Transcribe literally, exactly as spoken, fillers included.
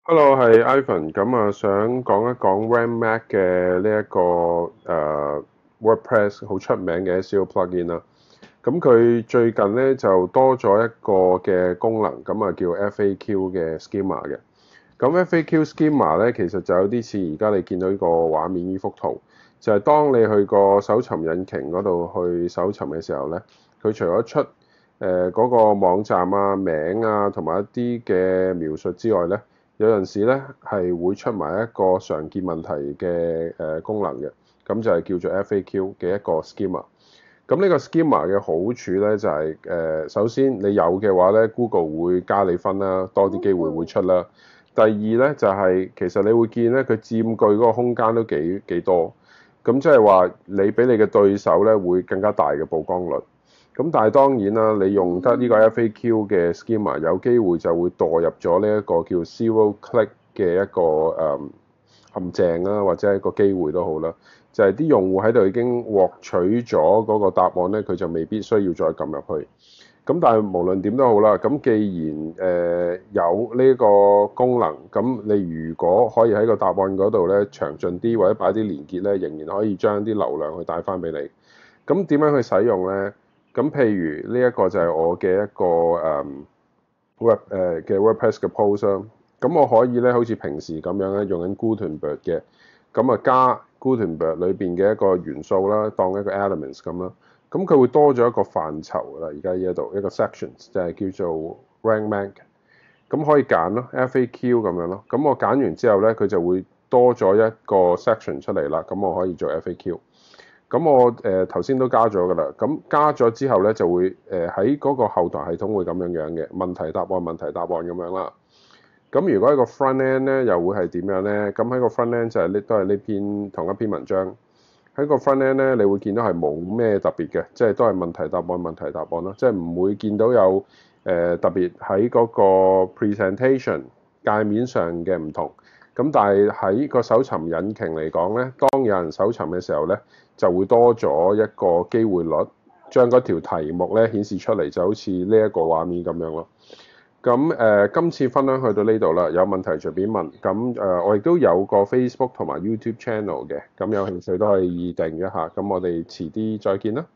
Hello，係 Ivan。咁啊，想講一講 Rank Math 嘅呢一個誒、呃 WordPress 好出名嘅 S E O plugin 啦。咁佢最近咧就多咗一個嘅功能，咁啊叫 F A Q 嘅 schema 嘅。咁 F A Q schema 咧，其實就有啲似而家你見到呢個畫面呢幅圖，就係、是、當你去個搜尋引擎嗰度去搜尋嘅時候咧，佢除咗出誒嗰、呃那個網站啊、名啊同埋一啲嘅描述之外咧，有陣時咧係會出埋一個常見問題嘅誒功能嘅，咁就係叫做 F A Q 嘅一個 schema。咁呢個 schema 嘅好處咧就係、是、誒，首先你有嘅話咧，Google 會加你分啦，多啲機會會出啦。第二咧就係、是、其實你會見咧佢佔據嗰個空間都幾幾多，咁即係話你比你嘅對手咧會更加大嘅曝光率。咁但係當然啦，你用得呢個 F A Q 嘅 schema 有機會就會墮入咗呢一個叫 zero click 嘅一個誒、嗯、陷阱啦，或者係一個機會都好啦。就係啲用戶喺度已經獲取咗嗰個答案咧，佢就未必需要再撳入去。咁但係無論點都好啦，咁既然誒、呃、有呢個功能，咁你如果可以喺個答案嗰度咧詳盡啲，或者擺啲連結咧，仍然可以將啲流量去帶翻俾你。咁點樣去使用咧？咁譬如呢一個就係我嘅一個誒、嗯、web 誒嘅 WordPress 嘅 post 啦。咁我可以咧好似平時咁樣咧用緊 Gutenberg 嘅，咁啊加 Gutenberg 裏邊嘅一個元素啦，當一個 elements 咁啦。咁佢會多咗一個範疇啦，而家呢一度一個 sections 就係叫做 Rank Math。咁可以揀咯，F A Q 咁樣咯。咁我揀完之後咧，佢就會多咗一個 section 出嚟啦。咁我可以做 F A Q。咁我誒頭先都加咗噶啦。咁加咗之後咧，就會誒喺嗰個後台系統會咁樣樣嘅問題答案、問題答案咁樣啦。咁如果喺個 front end 咧，又會係點樣咧？咁喺個 front end 就係呢都係呢篇同一篇文章。喺個 front end 咧，你會見到係冇咩特別嘅，即係都係問題答案、問題答案咯，即係唔會見到有誒、呃、特別喺嗰個 presentation 界面上嘅唔同。咁但係喺個搜尋引擎嚟講咧，當有人搜尋嘅時候咧，就會多咗一個機會率，將嗰條題目咧顯示出嚟，就好似呢一個畫面咁樣咯。咁誒、呃，今次分享去到呢度啦，有問題隨便問。咁誒、呃，我亦都有個 Facebook 同埋 YouTube channel 嘅，咁有興趣都可以訂閱一下。咁我哋遲啲再見啦。